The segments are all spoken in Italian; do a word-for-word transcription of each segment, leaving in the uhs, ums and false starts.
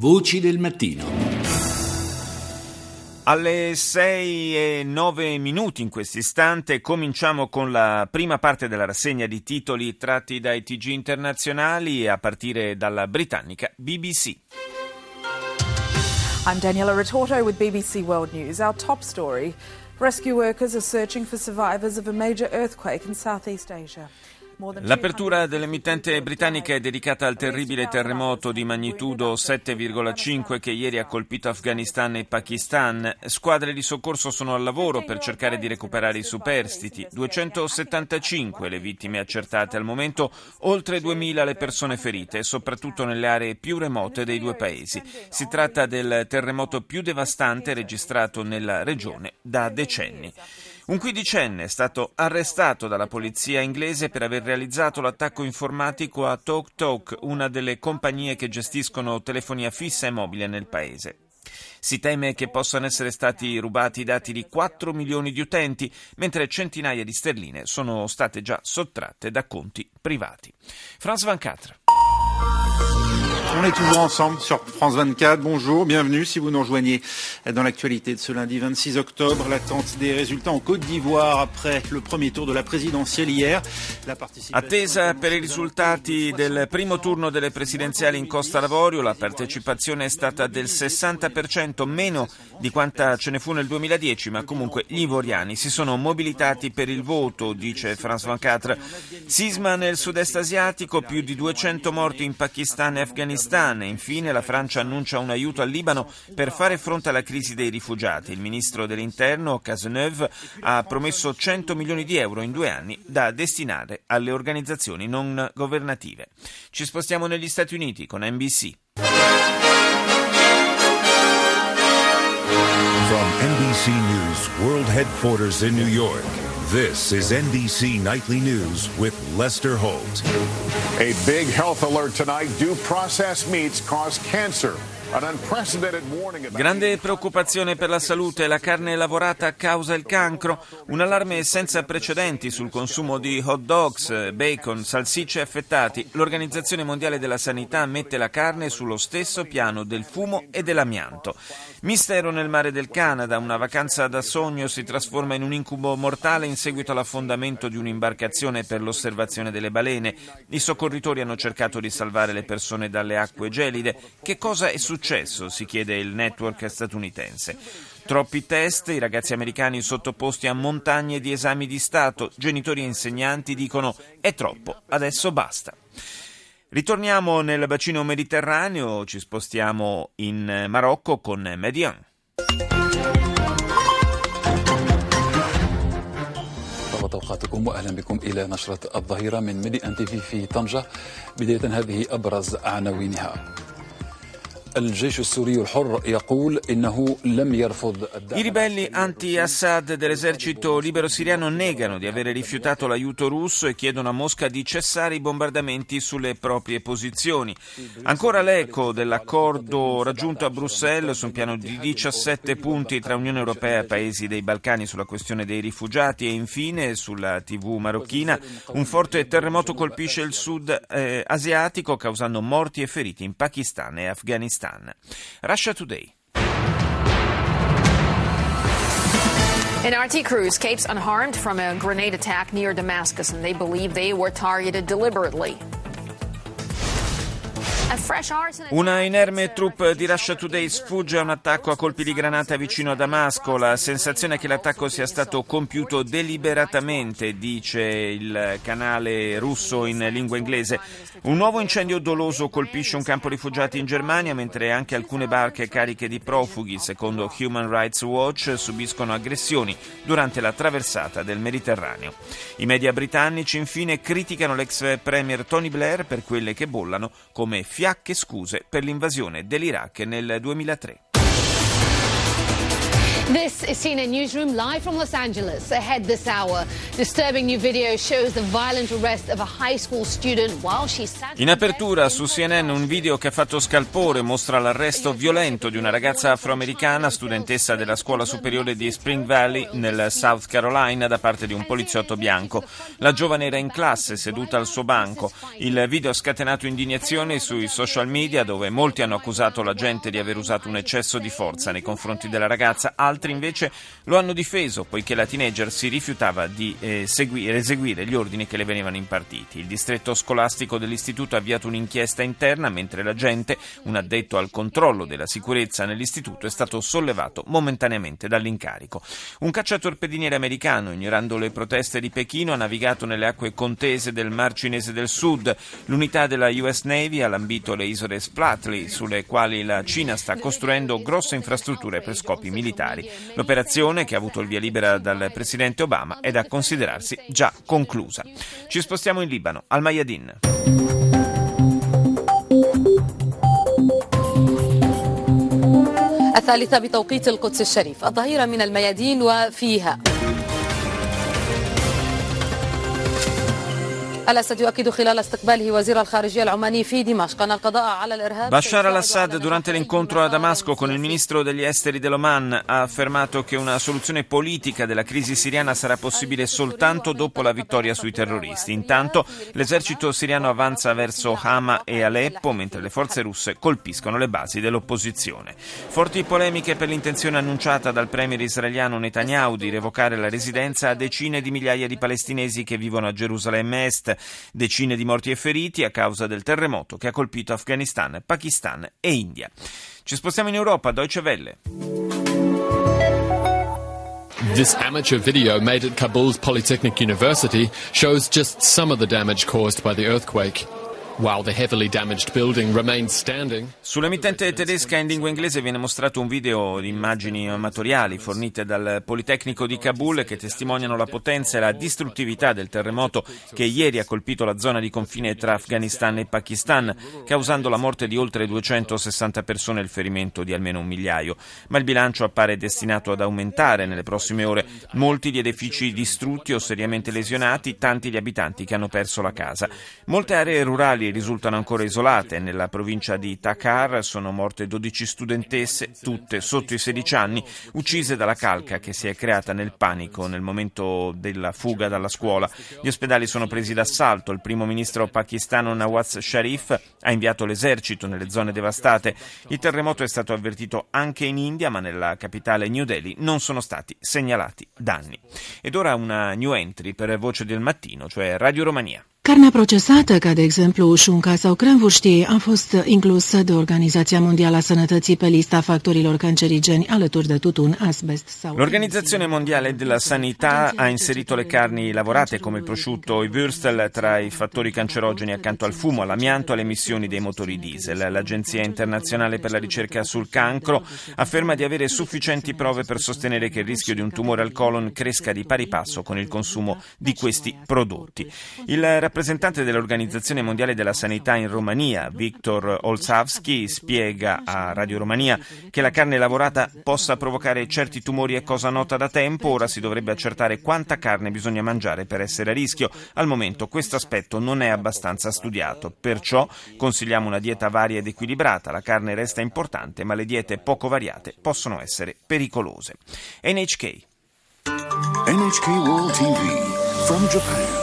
Voci del mattino. Alle sei e nove minuti in questo istante cominciamo con la prima parte della rassegna di titoli tratti dai T G internazionali, a partire dalla britannica B B C. I'm Daniela Ritorto with B B C World News. Our top story: rescue workers are searching for survivors of a major earthquake in Southeast Asia. L'apertura dell'emittente britannica è dedicata al terribile terremoto di magnitudo sette virgola cinque che ieri ha colpito Afghanistan e Pakistan. Squadre di soccorso sono al lavoro per cercare di recuperare i superstiti. duecentosettantacinque le vittime accertate al momento, oltre duemila le persone ferite, soprattutto nelle aree più remote dei due paesi. Si tratta del terremoto più devastante registrato nella regione da decenni. Un quindicenne è stato arrestato dalla polizia inglese per aver realizzato l'attacco informatico a TalkTalk, una delle compagnie che gestiscono telefonia fissa e mobile nel paese. Si teme che possano essere stati rubati i dati di quattro milioni di utenti, mentre centinaia di sterline sono state già sottratte da conti privati. France ventiquattro. On est toujours ensemble sur France vingt-quatre. Bonjour, bienvenue si vous nous rejoignez dans l'actualité de ce lundi vingt-six octobre. L'attente des résultats en Côte d'Ivoire après le premier tour de la présidentielle hier. La Attesa per i risultati del primo turno delle presidenziali in Costa d'Avorio. La partecipazione è stata del sessanta per cento, meno di quanta ce ne fu nel duemiladieci, ma comunque gli ivoriani si sono mobilitati per il voto, dice France ventiquattro. Sisma nel sud-est asiatico, più di duecento morti in Pakistan e Afghanistan. E infine la Francia annuncia un aiuto al Libano per fare fronte alla crisi dei rifugiati. Il ministro dell'Interno, Cazeneuve, ha promesso cento milioni di euro in due anni da destinare alle organizzazioni non governative. Ci spostiamo negli Stati Uniti con N B C. From N B C News World Headquarters in New York, this is N B C Nightly News with Lester Holt. A big health alert tonight. Due processed meats cause cancer. Grande preoccupazione per la salute, la carne lavorata causa il cancro, un allarme senza precedenti sul consumo di hot dogs, bacon, salsicce affettati. L'Organizzazione Mondiale della Sanità mette la carne sullo stesso piano del fumo e dell'amianto. Mistero nel mare del Canada, una vacanza da sogno si trasforma in un incubo mortale in seguito all'affondamento di un'imbarcazione per l'osservazione delle balene. I soccorritori hanno cercato di salvare le persone dalle acque gelide. Che cosa è successo? Successo, si chiede il network statunitense. Troppi test, i ragazzi americani sottoposti a montagne di esami di Stato, genitori e insegnanti dicono è troppo, adesso basta. Ritorniamo nel bacino mediterraneo, ci spostiamo in Marocco con Median. أوقاتكم وأهلا بكم إلى نشرة الظهيرة من ميدي أن تي في في طنجة. بداية هذه أبرز عناوينها. I ribelli anti-Assad dell'esercito libero siriano negano di avere rifiutato l'aiuto russo e chiedono a Mosca di cessare i bombardamenti sulle proprie posizioni. Ancora l'eco dell'accordo raggiunto a Bruxelles su un piano di diciassette punti tra Unione Europea e Paesi dei Balcani sulla questione dei rifugiati, e infine sulla tivù marocchina un forte terremoto colpisce il sud eh, asiatico causando morti e feriti in Pakistan e Afghanistan. Russia Today. An R T crew escapes unharmed from a grenade attack near Damascus, and they believe they were targeted deliberately. Una inerme troupe di Russia Today sfugge a un attacco a colpi di granata vicino a Damasco. La sensazione è che l'attacco sia stato compiuto deliberatamente, dice il canale russo in lingua inglese. Un nuovo incendio doloso colpisce un campo rifugiati in Germania, mentre anche alcune barche cariche di profughi, secondo Human Rights Watch, subiscono aggressioni durante la traversata del Mediterraneo. I media britannici infine criticano l'ex premier Tony Blair per quelle che bollano come fiacche scuse per l'invasione dell'Iraq nel duemilatré. This is C N N Newsroom live from Los Angeles. Ahead this hour, disturbing new video shows the violent arrest of a high school student while she sat. In apertura su C N N un video che ha fatto scalpore mostra l'arresto violento di una ragazza afroamericana, studentessa della scuola superiore di Spring Valley nel South Carolina, da parte di un poliziotto bianco. La giovane era in classe, seduta al suo banco. Il video ha scatenato indignazione sui social media, dove molti hanno accusato l'agente di aver usato un eccesso di forza nei confronti della ragazza. Altri invece lo hanno difeso, poiché la teenager si rifiutava di eh, seguire, eseguire gli ordini che le venivano impartiti. Il distretto scolastico dell'istituto ha avviato un'inchiesta interna, mentre l'agente, un addetto al controllo della sicurezza nell'istituto, è stato sollevato momentaneamente dall'incarico. Un cacciatorpediniere americano, ignorando le proteste di Pechino, ha navigato nelle acque contese del Mar Cinese del Sud. L'unità della U S Navy ha lambito le isole Spratly, sulle quali la Cina sta costruendo grosse infrastrutture per scopi militari. L'operazione, che ha avuto il via libera dal presidente Obama, è da considerarsi già conclusa. Ci spostiamo in Libano, al Mayadin. الثالثة بتوقيت القدس الشريف الظهيرة من الميادين وفيها الأسد يؤكد خلال استقباله وزير الخارجية العماني في دمشق أن القضاء على الإرهاب. Bashar al-Assad, durante l'incontro a Damasco con il ministro degli esteri dell'Oman, ha affermato che una soluzione politica della crisi siriana sarà possibile soltanto dopo la vittoria sui terroristi. Intanto l'esercito siriano avanza verso Hama e Aleppo, mentre le forze russe colpiscono le basi dell'opposizione. Forti polemiche per l'intenzione annunciata dal premier israeliano Netanyahu di revocare la residenza a decine di migliaia di palestinesi che vivono a Gerusalemme Est. Decine di morti e feriti a causa del terremoto che ha colpito Afghanistan, Pakistan e India. Ci spostiamo in Europa, Deutsche Welle. This amateur video made at Kabul's Polytechnic University shows just some of the damage caused by the earthquake. While the heavily damaged building remains standing. Sull'emittente tedesca in lingua inglese viene mostrato un video di immagini amatoriali fornite dal Politecnico di Kabul che testimoniano la potenza e la distruttività del terremoto che ieri ha colpito la zona di confine tra Afghanistan e Pakistan, causando la morte di oltre duecentosessanta persone e il ferimento di almeno un migliaio. Ma il bilancio appare destinato ad aumentare nelle prossime ore. Molti gli edifici distrutti o seriamente lesionati, tanti gli abitanti che hanno perso la casa. Molte aree rurali risultano ancora isolate. Nella provincia di Takhar sono morte dodici studentesse, tutte sotto i sedici anni, uccise dalla calca che si è creata nel panico nel momento della fuga dalla scuola. Gli ospedali sono presi d'assalto. Il primo ministro pakistano Nawaz Sharif ha inviato l'esercito nelle zone devastate. Il terremoto è stato avvertito anche in India, ma nella capitale New Delhi non sono stati segnalati danni. Ed ora una new entry per Voce del Mattino, cioè Radio Romania. Carnea procesată, ca de exemplu șunca sau cremvârștii, a fost inclusă de Organizația Mondială a Sănătății pe lista factorilor cancerigeni alături de tutun, asbest sau... L'Organizzazione Mondiale della Sanità ha inserito le carni lavorate come il prosciutto o i würstel tra i fattori cancerogeni accanto al fumo, all'amianto e alle emissioni dei motori diesel. L'Agenzia Internazionale per la Ricerca sul Cancro afferma di avere sufficienti prove per sostenere che il rischio di un tumore al colon cresca di pari passo con il consumo di questi prodotti. Il Il rappresentante dell'Organizzazione Mondiale della Sanità in Romania, Viktor Olsavsky, spiega a Radio Romania che la carne lavorata possa provocare certi tumori è cosa nota da tempo. Ora si dovrebbe accertare quanta carne bisogna mangiare per essere a rischio. Al momento questo aspetto non è abbastanza studiato, perciò consigliamo una dieta varia ed equilibrata. La carne resta importante, ma le diete poco variate possono essere pericolose. N H K. N H K World T V from Japan.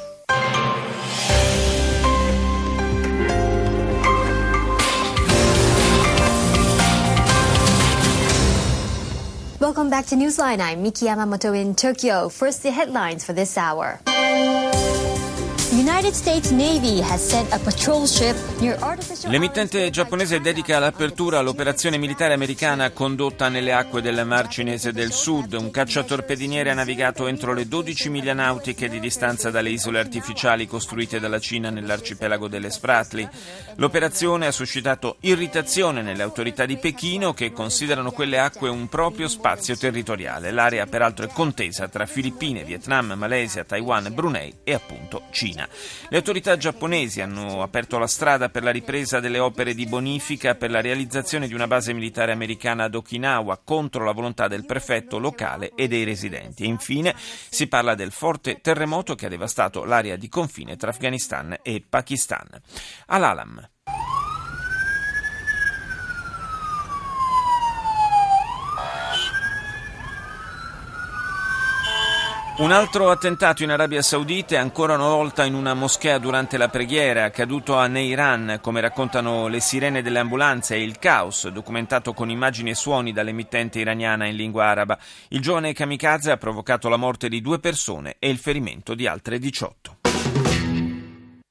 Welcome back to Newsline. I'm Miki Yamamoto in Tokyo. First, the headlines for this hour. United States Navy has sent a patrol ship near artificial... L'emittente giapponese dedica l'apertura all'operazione militare americana condotta nelle acque del Mar Cinese del Sud. Un cacciatorpediniere ha navigato entro le dodici miglia nautiche di distanza dalle isole artificiali costruite dalla Cina nell'arcipelago delle Spratly. L'operazione ha suscitato irritazione nelle autorità di Pechino, che considerano quelle acque un proprio spazio territoriale. L'area peraltro è contesa tra Filippine, Vietnam, Malesia, Taiwan, Brunei e appunto Cina. Le autorità giapponesi hanno aperto la strada per la ripresa delle opere di bonifica per la realizzazione di una base militare americana ad Okinawa contro la volontà del prefetto locale e dei residenti. E infine si parla del forte terremoto che ha devastato l'area di confine tra Afghanistan e Pakistan. Al-Alam. Un altro attentato in Arabia Saudita e ancora una volta in una moschea durante la preghiera, accaduto a Neiran, come raccontano le sirene delle ambulanze e il caos, documentato con immagini e suoni dall'emittente iraniana in lingua araba. Il giovane kamikaze ha provocato la morte di due persone e il ferimento di altre diciotto.